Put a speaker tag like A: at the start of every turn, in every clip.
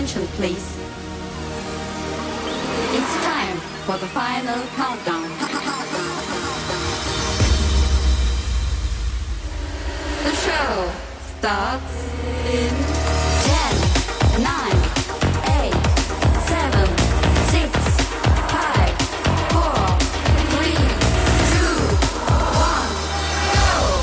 A: attention, please. It's time for the final countdown. The show starts in 10, 9, 8, 7, 6, 5, 4, 3, 2, 1, go!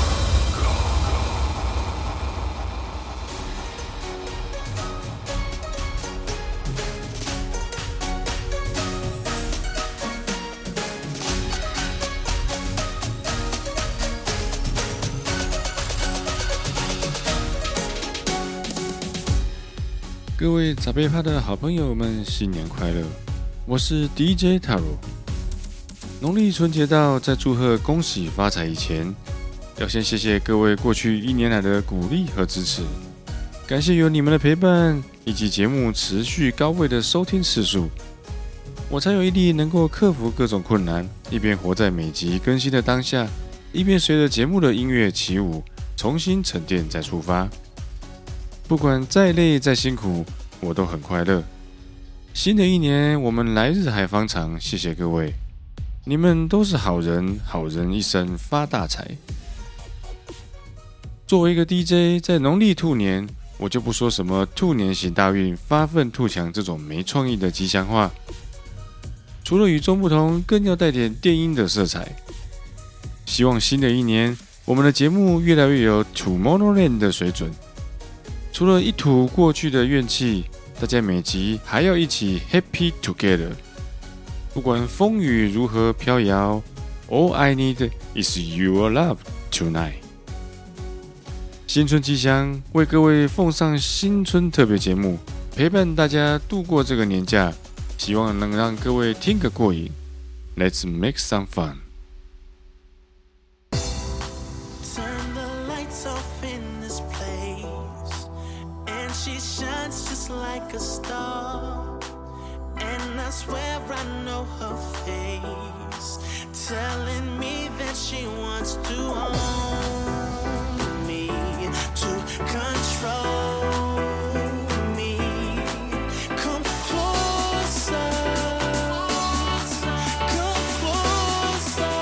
B: 各位早杯趴的好朋友們，新年快樂！我是 DJ Taro。農曆春節到，在祝賀恭喜發財以前，要先謝謝各位過去1年來的鼓勵和支持，感謝有你們的陪伴，以及節目持續高位的收聽次數，我才有毅力能夠克服各種困難，一邊活在每集更新的當下，一邊隨着節目的音樂起舞，重新沉澱再出發。不管再累再辛苦，我都很快樂。新的一年，我們來日還方長，謝謝各位，你們都是好人，好人一生發大財。作為一個 DJ， 在農曆兔年，我就不說什麼兔年行大運、發奮圖強這種沒創意的吉祥話，除了與眾不同，更要帶點電音的色彩。希望新的一年，我們的節目越來越有 Tomorrowland 的水準。除了一吐過去的怨氣，大家每集還要一起 Happy Together。不管風雨如何飄搖 ，All I need is your love tonight。新春吉祥，為各位奉上新春特別節目，陪伴大家度過這個年假，希望能讓各位聽個過癮。Let's make some fun。
C: Like a star, and I swear I know her face, telling me that she wants to own me, to control me. Come closer, come closer,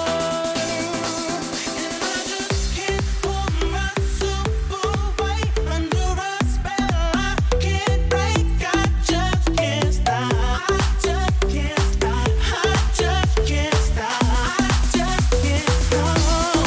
C: and I just can't hold myself away under a spell. I just can't stop.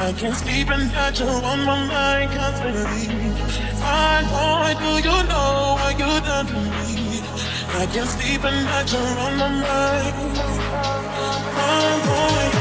C: I can't sleep and got you on my mind constantly. Fine boy, do you know what you done to me? I can't sleep and got you on my mind. Fine boy.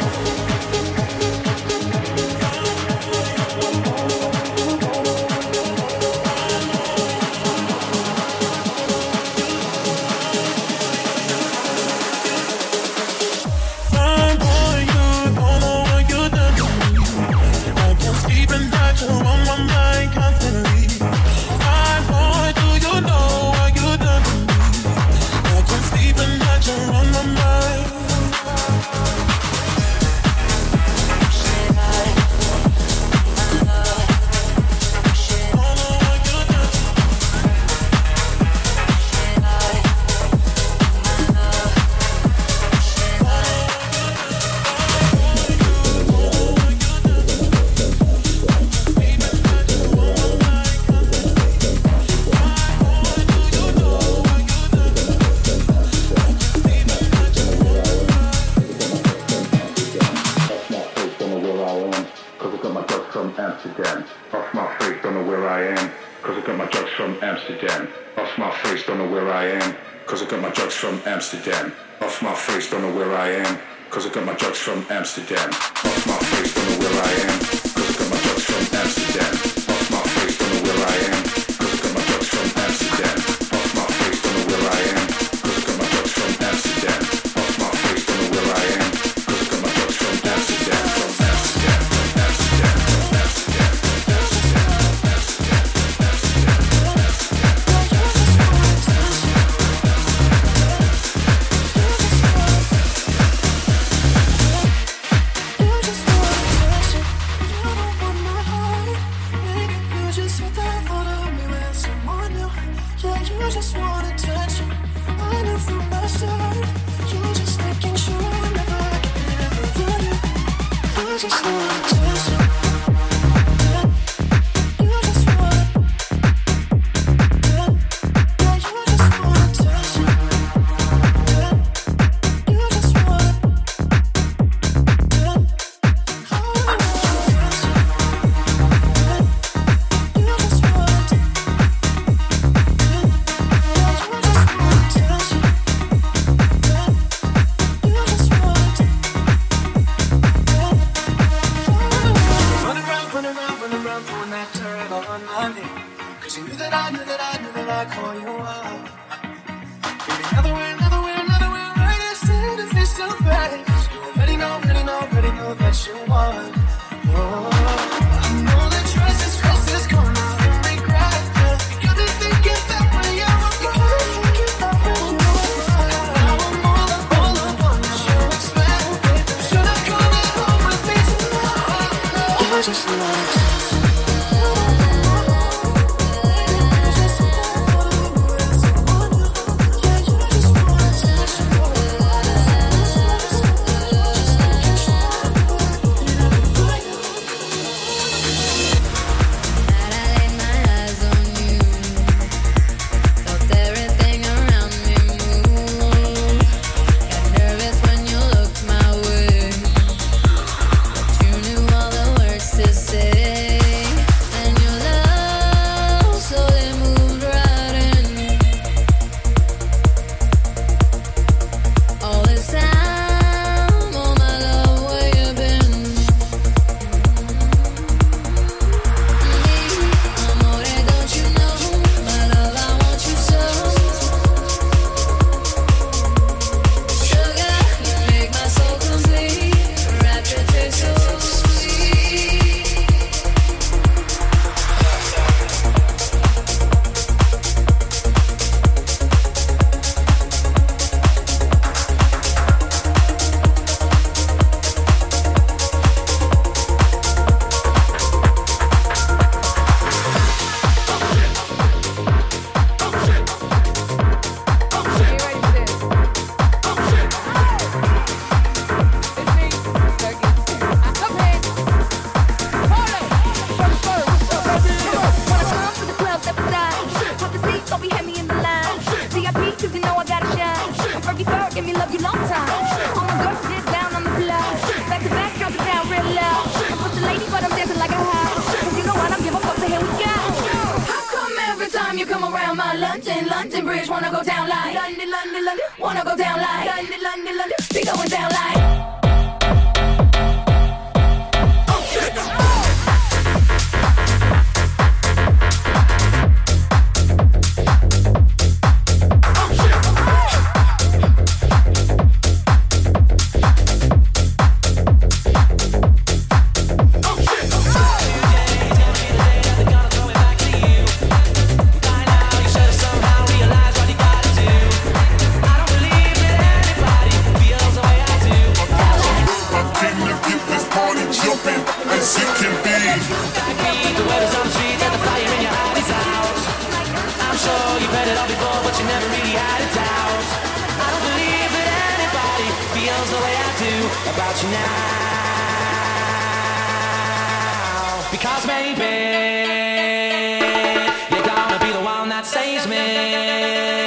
D: Amsterdam. Off my face, don't know where I am, cause I got my drugs from Amsterdam. Off my face, don't know where I am, cause I got my drugs from Amsterdam. Off my face, don't know where I am, cause I got my drugs from Amsterdam. Off my face, don't know where I am, cause I got my drugs from Amsterdam. Off my face, don't know where I am, cause I got my drugs from Amsterdam. From Amsterdam, from Amsterdam, from Amsterdam, from
A: time you come around my London, London Bridge, wanna go down like London, London, London, wanna go down like London, London, London, be going down like.
E: Because maybe you're gonna be the one that saves me.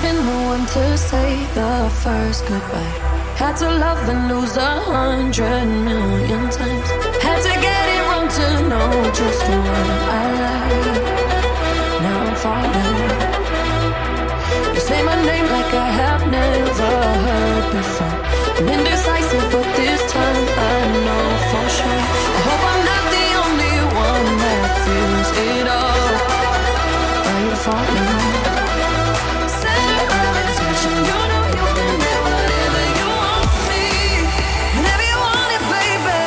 A: been the one to say the first goodbye. Had to love and lose 100,000,000 times. Had to get it wrong to know just what I like. Now I'm falling. You say my name like I have never heard before. I'm indecisive, but this time I know for sure. I hope I'm not the only one that feels it all. Are you falling? Center of attention, you know you can get whatever you want from me, whenever you want it, baby.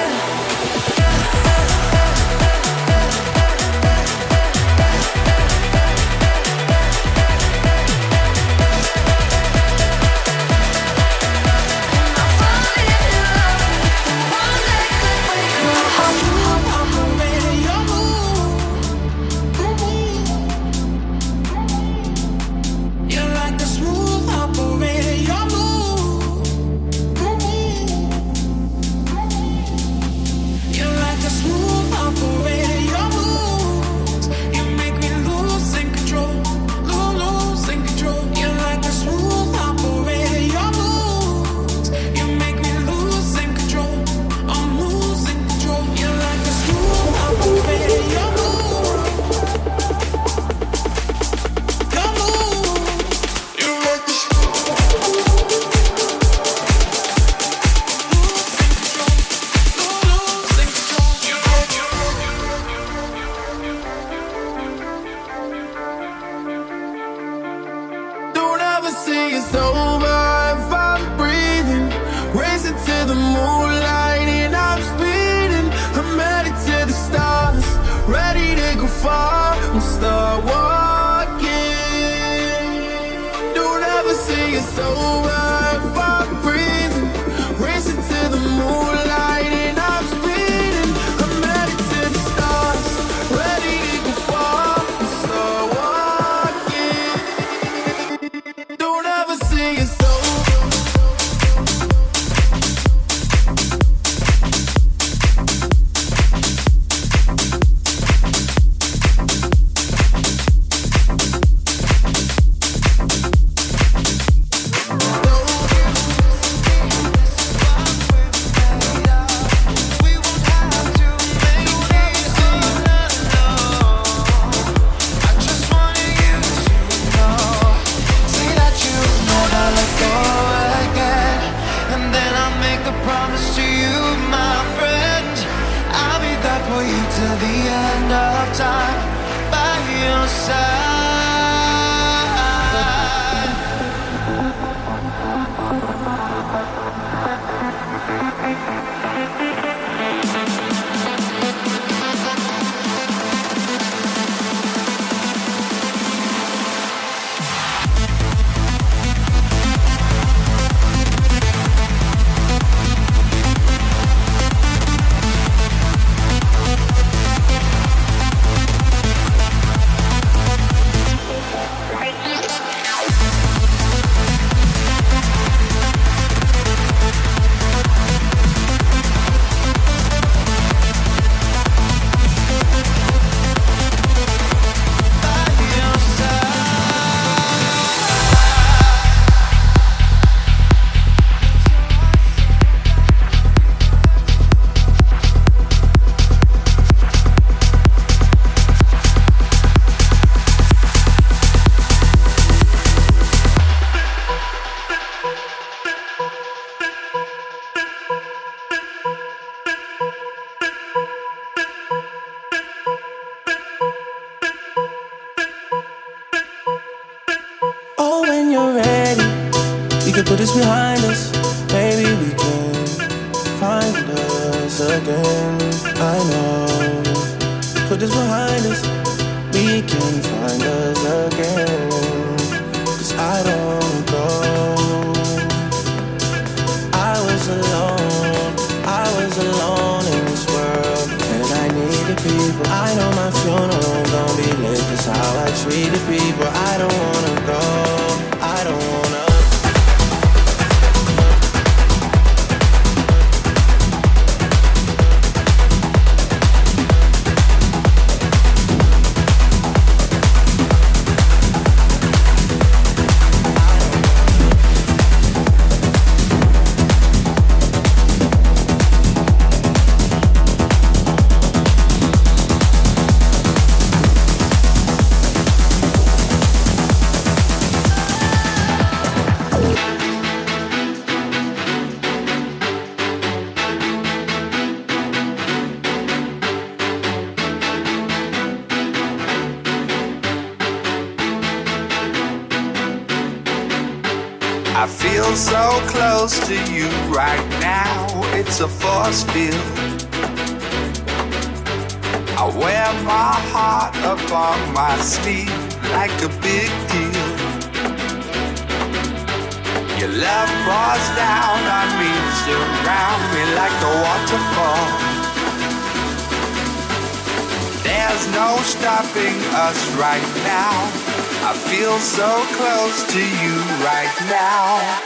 F: Put this behind us, maybe we can find us again. I know. Put this behind us, we can find us again. 'Cause I don't go. I was alone in this world, and I needed people. I know my funeral gon' be lit, 'cause how I treated people. I don't wanna go, I don't wanna.
G: I feel so close to you right now. It's a force field. I wear my heart upon my sleeve like a big deal. Your love pours down on me, surround me like a waterfall. There's no stopping us right now. I feel so close to you right now.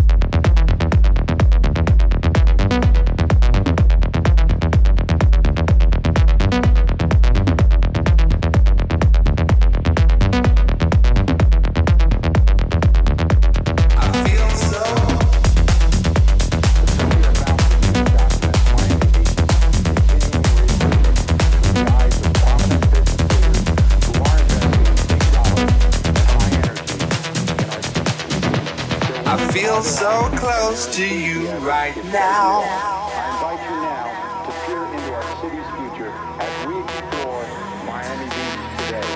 G: So close to you right now.
H: I invite you now to peer into our city's future as we explore Miami Beach today.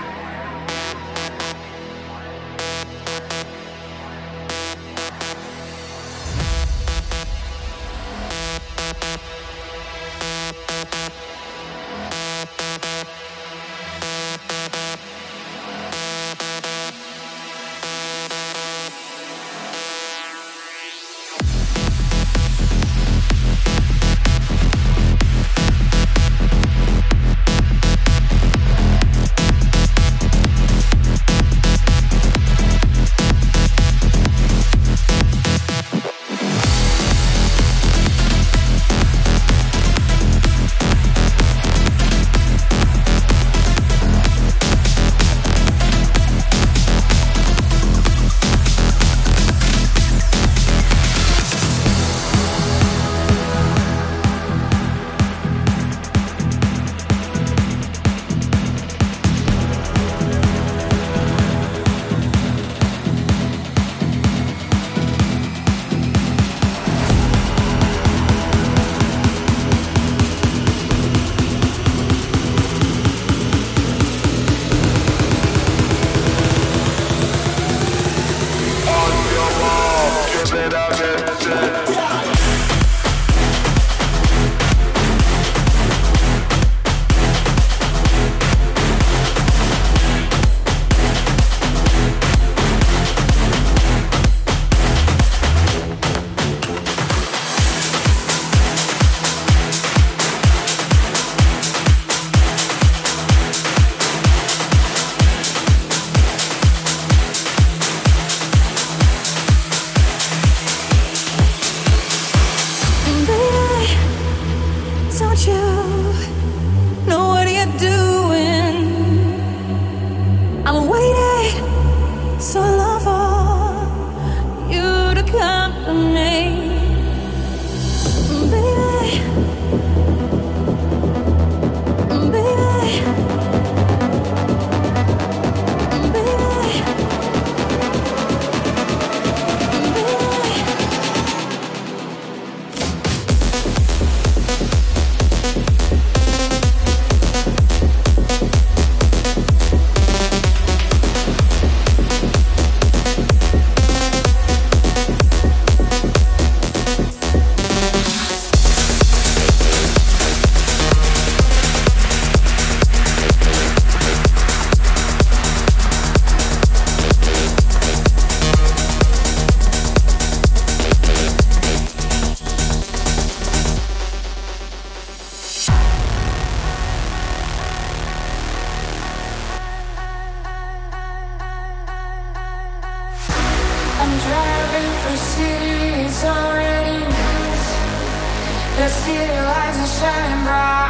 A: The city lights are shining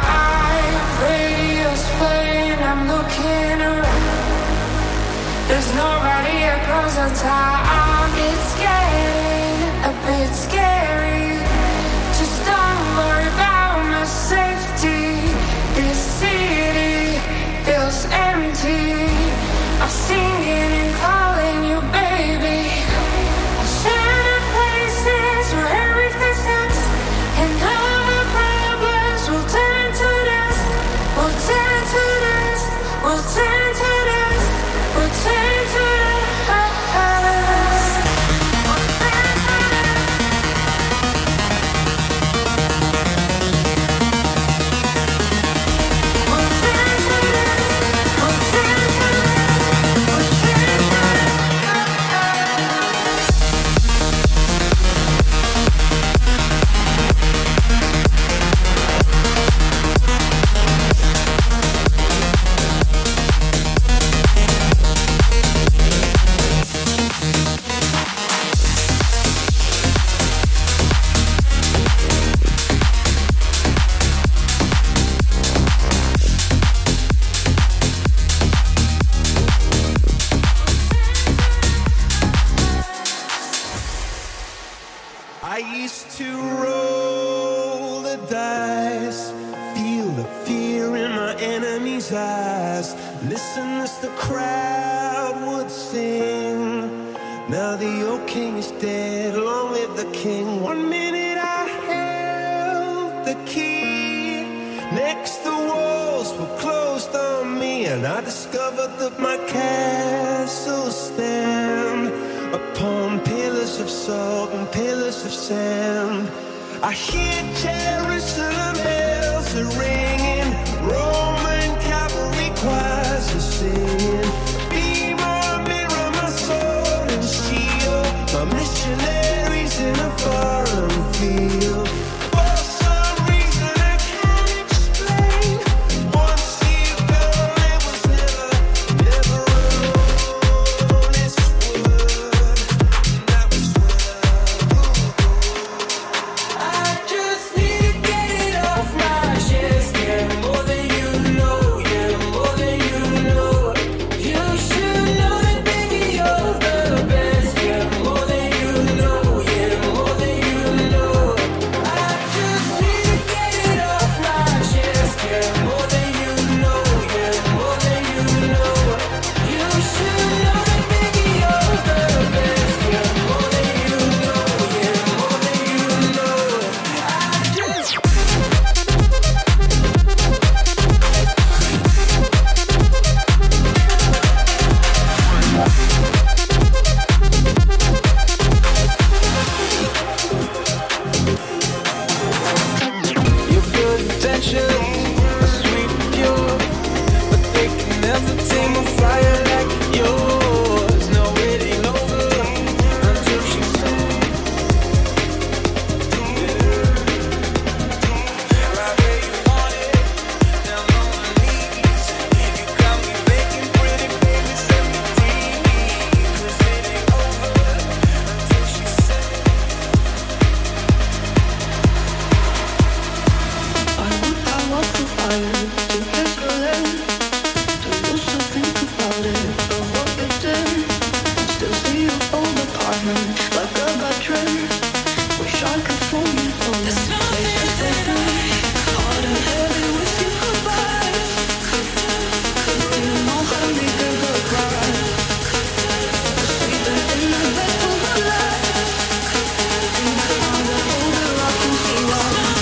A: bright. Radio's playing, I'm looking around. There's nobody across the town. It's getting a bit scary. Just don't worry about my safety. This city feels empty. I'm singing and calling you baby. I'll share the places where everything starts, and all the problems will turn to dust. We'll turn to dust. We'll turn to dust. We'll turn to dust.
F: first the crowd would sing. Now the old king is dead, long live the king. 1 minute I held the key. Next the walls were closed on me, and I discovered that my castle stand upon pillars of salt and pillars of sand. I hear Jerusalem bells are ringing, Roman cavalry choirs are singing. Be my mirror, my sword and shield, my missionaries in a foreign field. For some reason I can't explain, once you go, it was never alone. It's wood, and that was
E: I just need to get it off my chest. Yeah, more than you know. Yeah, more than you know. You should know that, baby, you're the best. Yeah, more than you know. Yeah, more than you know. I just need to get it off my chest. Yeah, more than you know. Yeah, more than you know. You should know that, baby, you're the best. Yeah, more than you know. Yeah, more than you know.
F: Your good intentions are sweet and pure, but they can never tame a fire like yours. No, it ain't over until she sings. Right where you want it, down on my knees. You got me making pretty, baby, set me free. 'Cause it ain't over until she sings.
A: I walk the fire to kiss your lips. Do you still think about it, of what you did? Still see your old apartment like a bad trip. Wish I could phone you all the places that night. Hard and heavy with your goodbyes. Do you know how to make a girl cry? Sleeping in the bed for my life. Think now that older I can see why.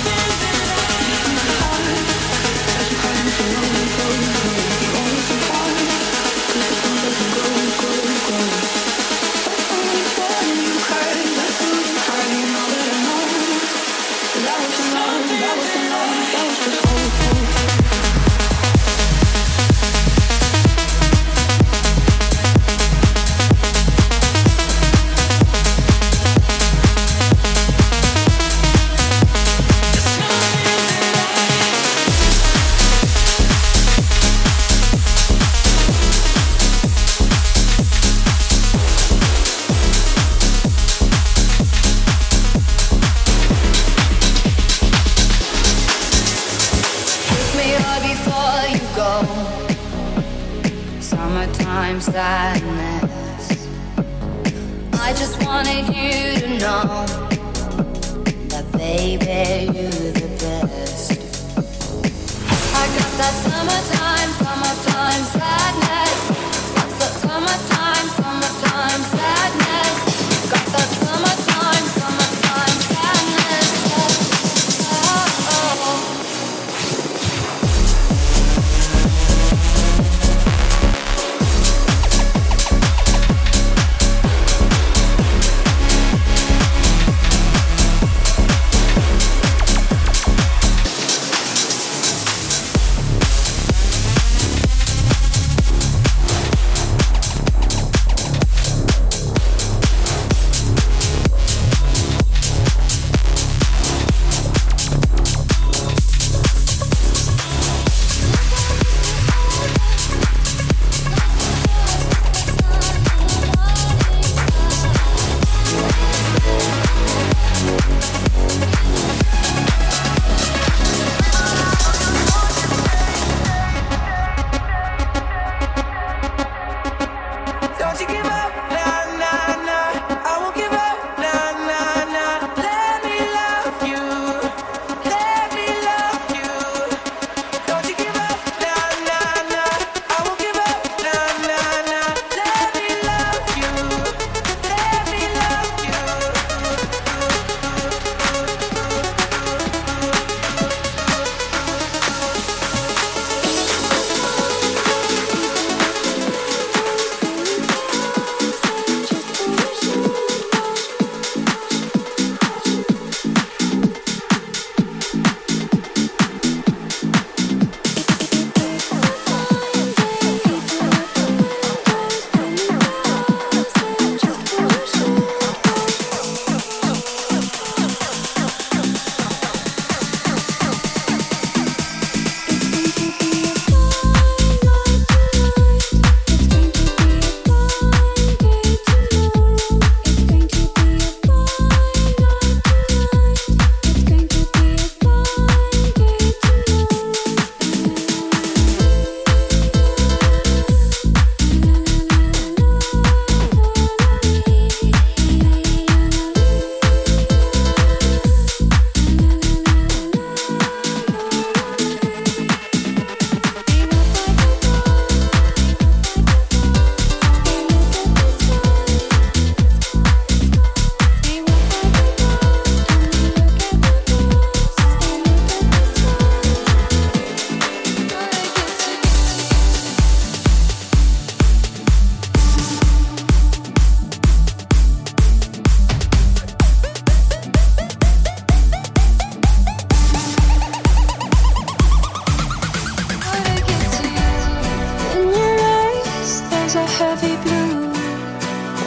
A: Kiss me hard before you go. Summertime sadness. I just wanted you to know that, baby, you're the best. I got that summertime sadness. That's that summertime sadness. Got that summertime sadness. Oh.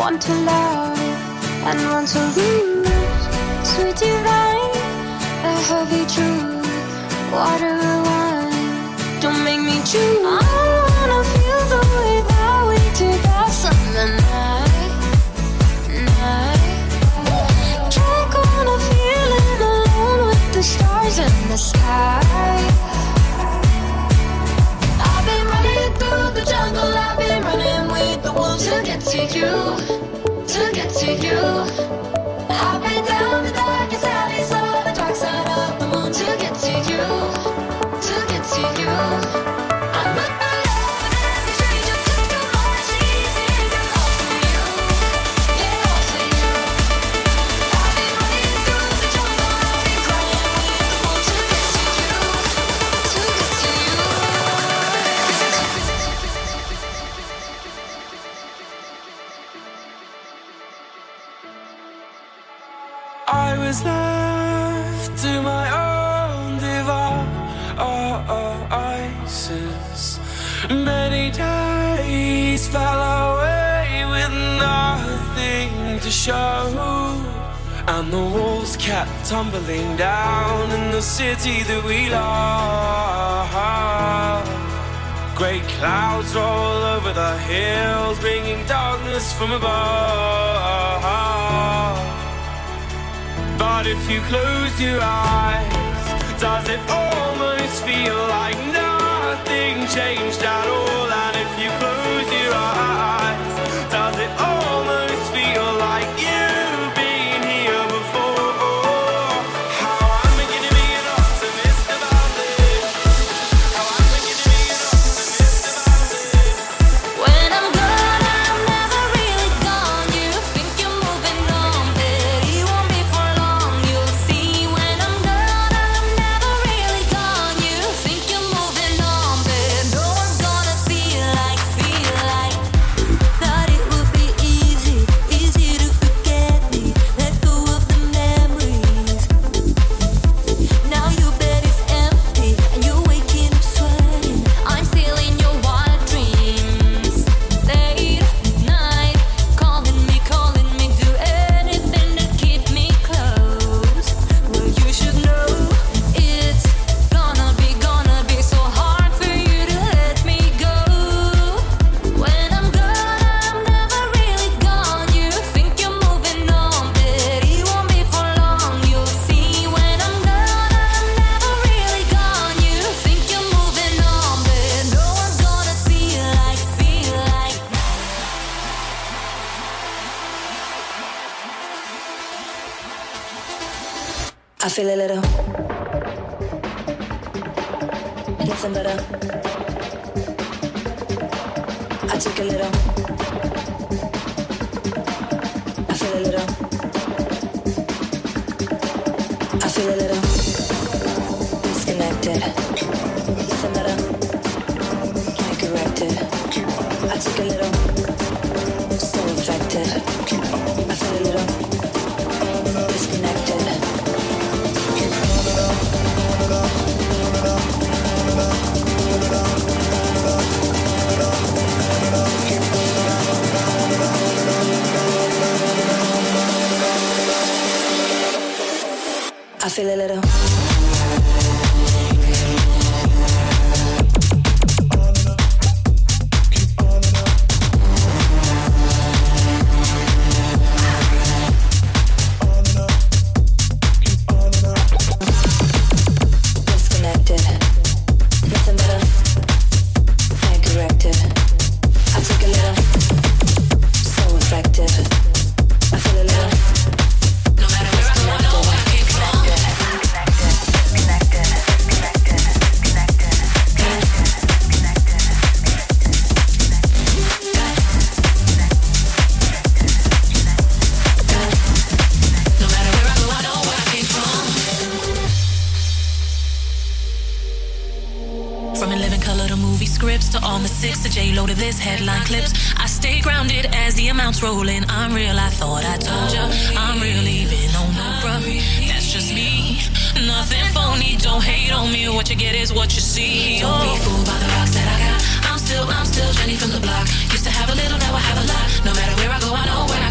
A: want to love and want to lose. Sweet divine, a heavy truth. Water and wine, don't make me choose. I wanna feel the way that we did that summer night. Drunk on a feeling alone with the stars in the sky. I've been running through the jungle, I've been running with the wolves to get to you, to get to you. I've been down the darkest alleys of the dark side of the moon to get to you, to get to you. I'm with my love and every stranger took a much easier. All for you, yeah, all for you. I've been running through the jungle, I've been crying with the wolves to get to you, to get to you.
F: I was left to my own devices. Many days fell away with nothing to show, and the walls kept tumbling down in the city that we love. Great clouds roll over the hills, bringing darkness from above. But if you close your eyes, does it almost feel like nothing changed at all? And if you close your eyes, does it almost feel like you've been here before? How I'm beginning to be an optimist about this. How I'm beginning to be an optimist about this.
A: When I'm gone, I'm never really gone. You think you're moving on, but it won't be for long. You'll see. When I'm gone, I'm never really gone. You think you're moving on, but no one's gonna feel like thought it would be easy to forget me. Let go of the memories. Now your bed is empty and you're waking up sweating. I'm still in your wild dreams. Late night, calling me, do anything to keep me close. Well, you should know it's gonna be so hard for you to let me go. When I'm gone, I'm never really gone. You think you're moving on, but it won't be for long. You'll see. When I'm gone, I'm never really gone. You think you're moving on, but no one's gonna feel like. I feel a little nothing better. I took a little. I feel a little. I feel a little disconnected. Nothing better. Can't correct it. I took a little. So affected. I feel a little disconnected. I feel a little. Disconnected. Nothing better. Can't correct it. I took a little. So effective. I feel a little. No matter where I go, I know where I came from.
I: From 11 color to movie scripts to all the 6 to J-Lo to this headline clips. I stay grounded as the amounts roll in. I'm real, I thought I told ya. I'm real even on no bruh. That's just me. Nothing phony, don't hate on me. What you get is what you see. Don't be fooled by the rocks that I got. I'm still Jenny from the block. Used to have a little, now I have a lot. No matter where I go, I know where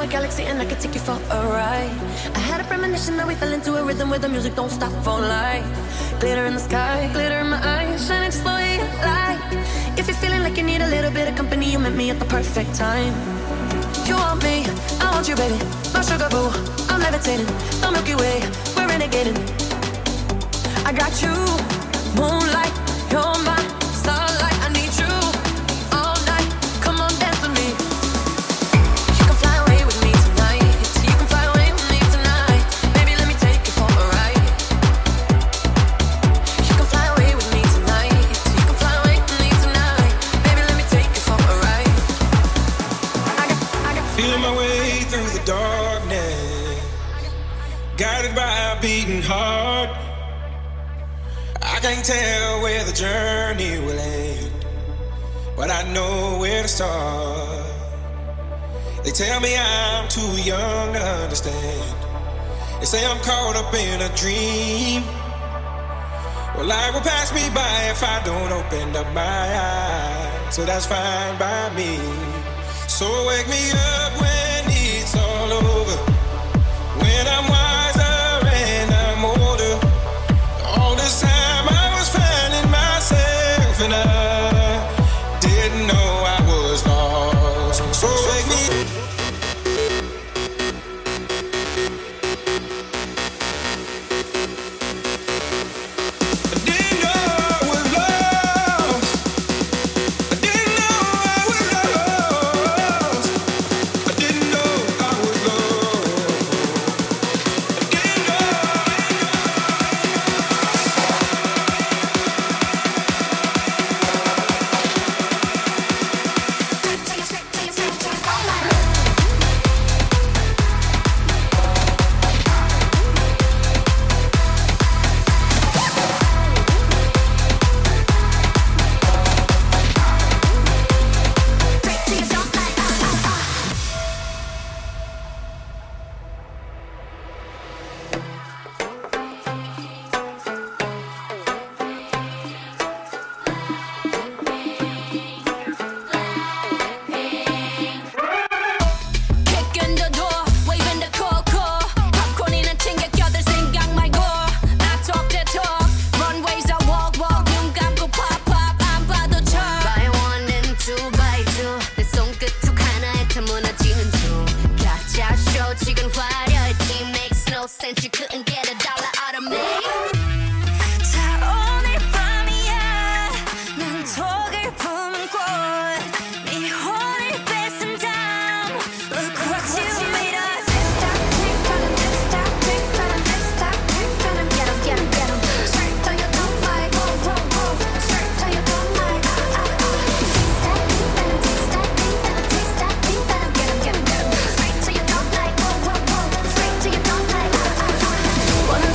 A: a galaxy and I could take you for a ride. I had a premonition that we fell into a rhythm where the music don't stop for life. Glitter in the sky, glitter in my eyes, shining just the way you like. If you're feeling like you need a little bit of company, you met me at the perfect time. You want me, I want you, baby. My sugar boo, I'm levitating. The Milky Way, we're renegading. I got you, moonlight, you're my starlight. I need you all night. Come on, dance with me. You can fly away with me tonight. You can fly away with me tonight. Baby, let me take you for a ride. You can fly away with me tonight. You can fly away with me tonight. Baby, let me take you for a ride.
J: Feeling my way through the darkness, guided by a beating heart. I can't tell where the journey will end, but I know where to start. They tell me I'm too young to understand. They say I'm caught up in a dream. Well, life will pass me by if I don't open up my eyes, so that's fine by me. So wake me up when it's all over, when I'm wiser and I'm older. All this time I was finding myself and I didn't know I was lost. So wake me up.
A: Since you couldn't get a dollar out of me. 자 오늘 밤이야 난 독을 품은 꽃 네 혼을 뺏은 다음 Look what you made us. Stop, get 'em, get 'em, get 'em. Straight to your don't like, whoa, whoa, whoa. Straight to your don't like, taste that, get 'em, get 'em, get 'em. Straight to your don't like, whoa, whoa, whoa. Straight to your don't like. Wanna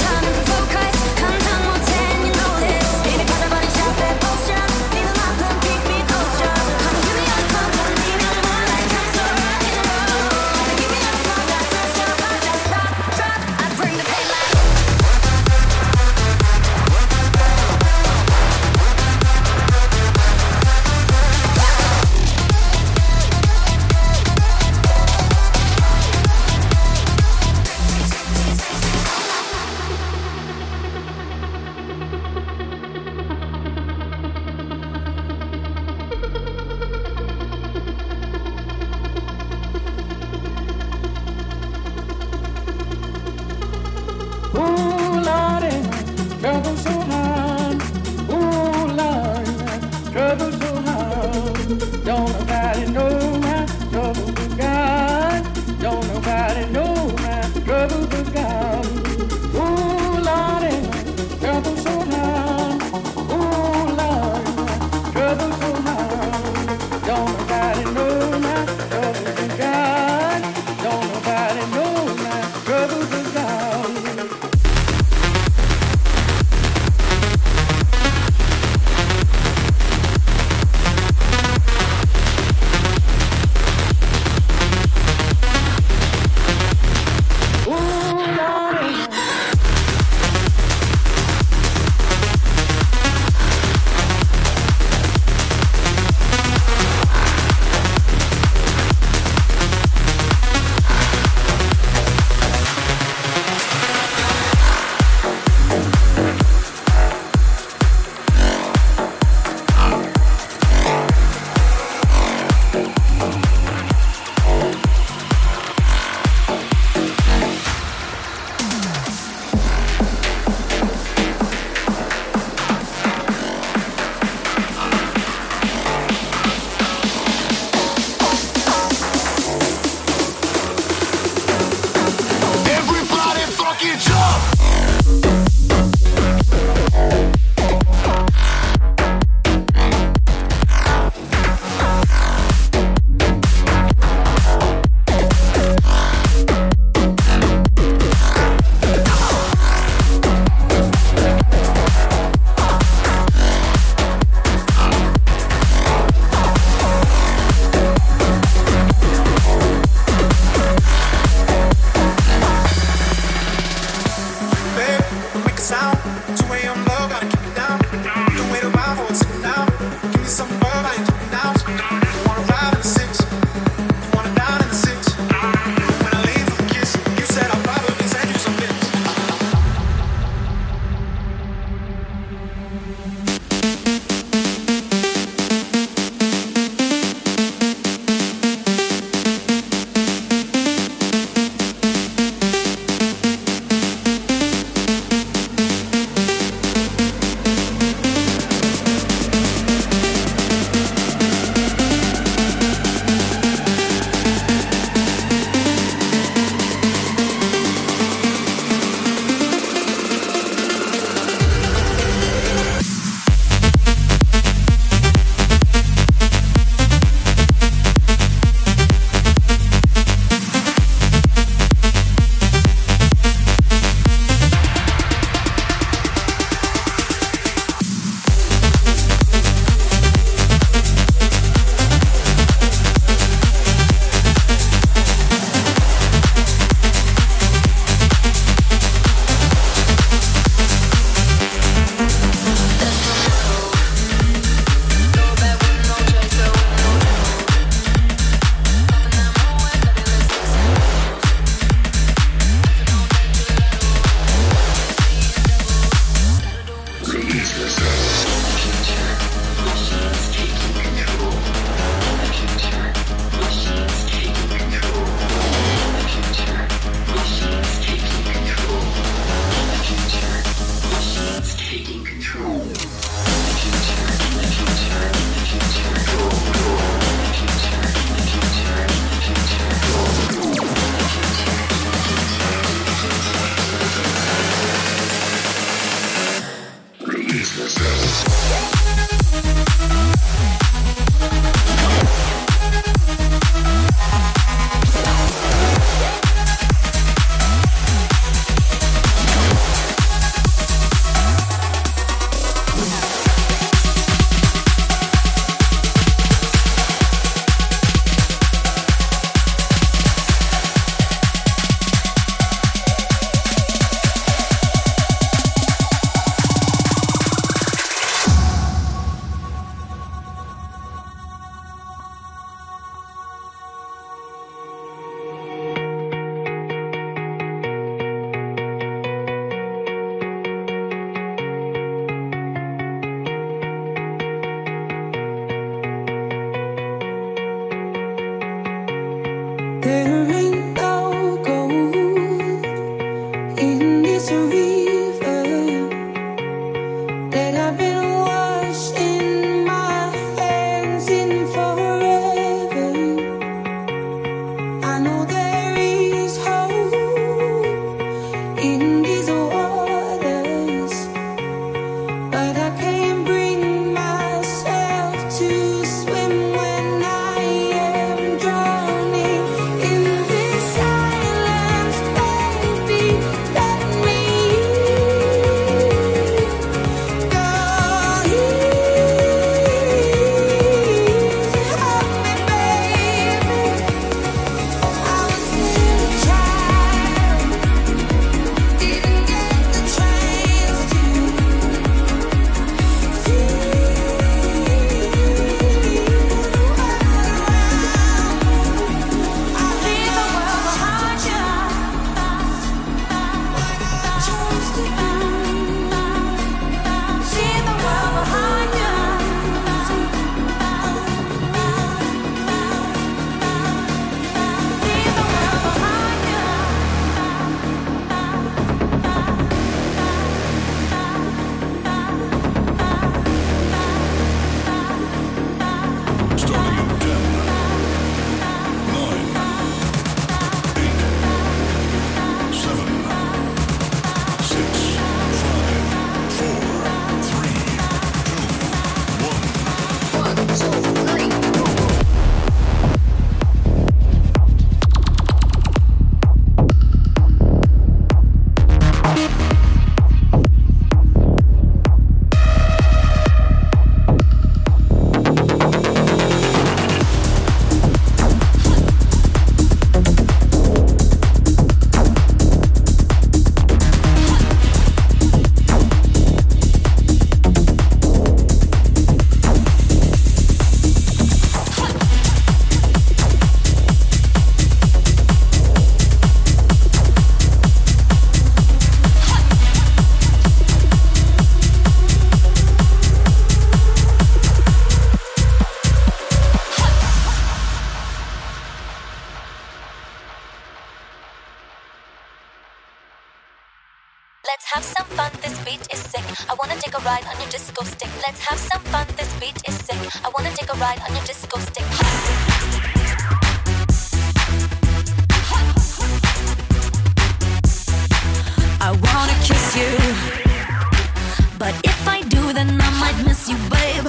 A: There ain't no gold in this river that I've been washing my hands in forever. I know there is hope in these waters, but I can't bring myself to swim when I am drowning in this silence. Baby, let me go easy. Help me, baby. I was still a child, didn't get the chance to feel
K: Let's have some fun, this beat is sick. I wanna take a ride on your disco stick. Let's have some fun, this beat is sick. I wanna take a ride on your disco stick.
I: I wanna kiss you, but if I do, then I might miss you, babe.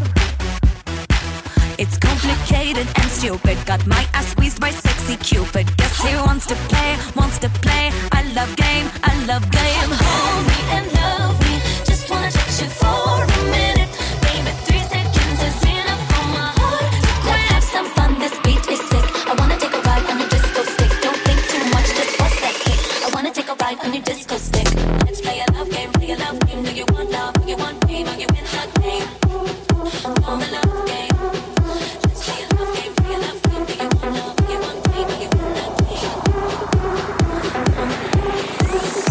I: It's complicated and stupid. Got my ass squeezed by sexy Cupid. Guess he wants to play, wants to play. I love game, I love game.
K: Hold me and love me, just wanna touch you for a minute. Baby, 3 seconds is enough for my heart to quit. Let's have some fun, this beat is sick. I wanna take a ride on your disco stick. Don't think too much, just bust that kick. I wanna take a ride on your disco stick. Let's play a love game, play a love game. Do you want love? Do you want pain? Are you in the game? On the love game. Let's play a love game, play a love game. Do you want love? Do you want pain? Are you in the game?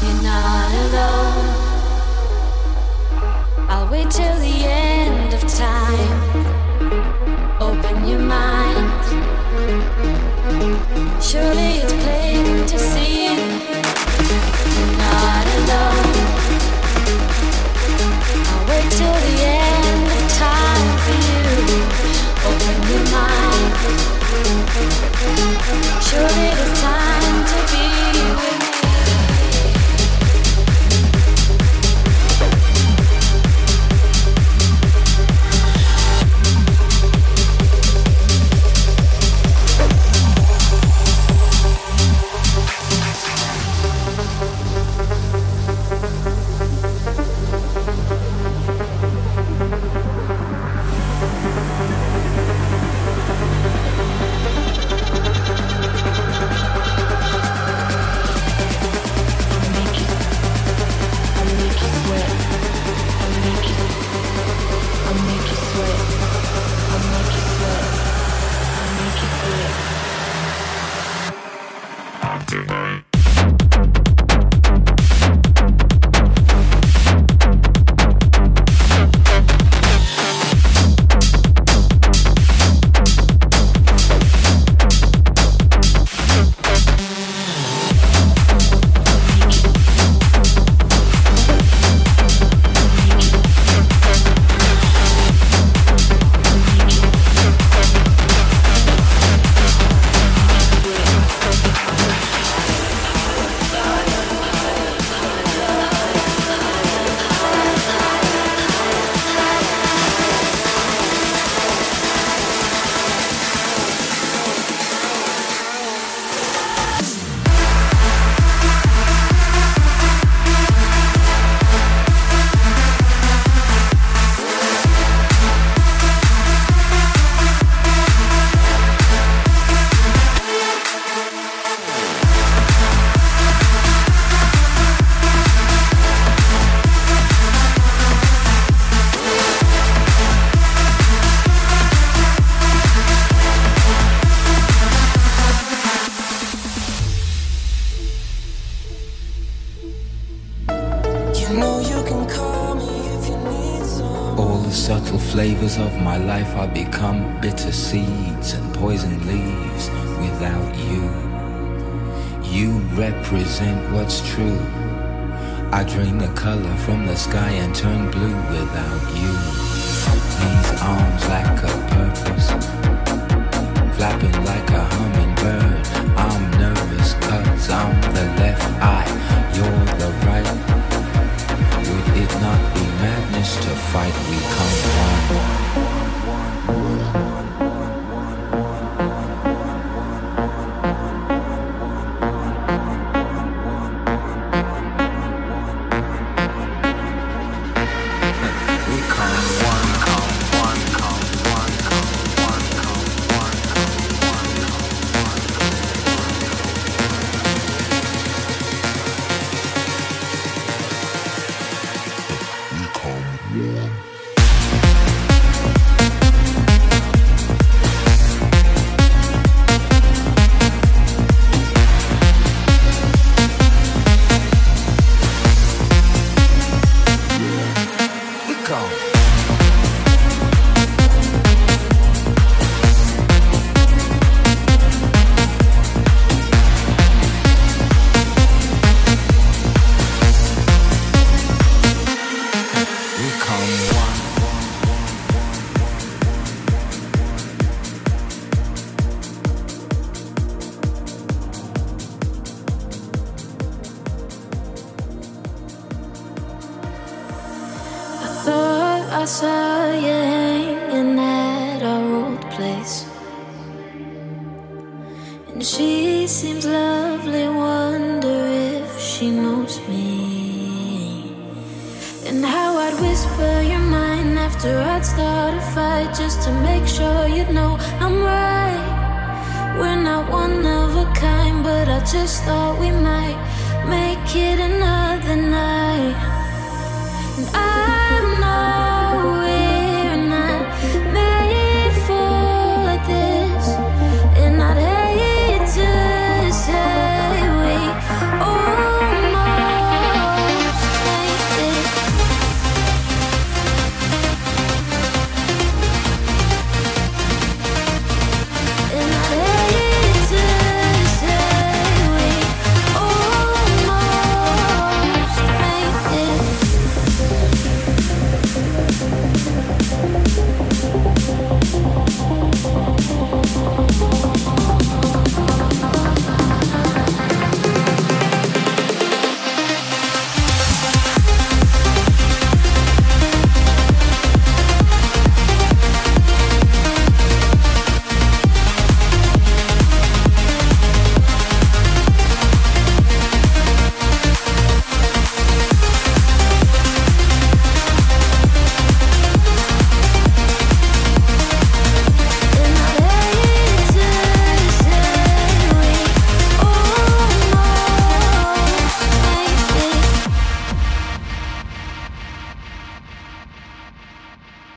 A: You're not alone. I'll wait till the end of time. Open your mind. Surely it's plain to see you're not alone. I'll wait till the end of time for you. Open your mind. Surely it's time to be with me.
L: Flavors of my life are become bitter seeds and poison leaves without you. You represent what's true. I drain the color from the sky and turn blue without you. These arms lack a purpose, flapping like a hummingbird. I'm nervous 'cause I'm the left eye, you're the right. Would it not be madness to fight? We come one.
A: I saw you hanging at our old place, and she seems lovely. Wonder if she knows me, and how I'd whisper your mind after I'd start a fight, just to make sure you'd know I'm right. We're not one of a kind, but I just thought we might make it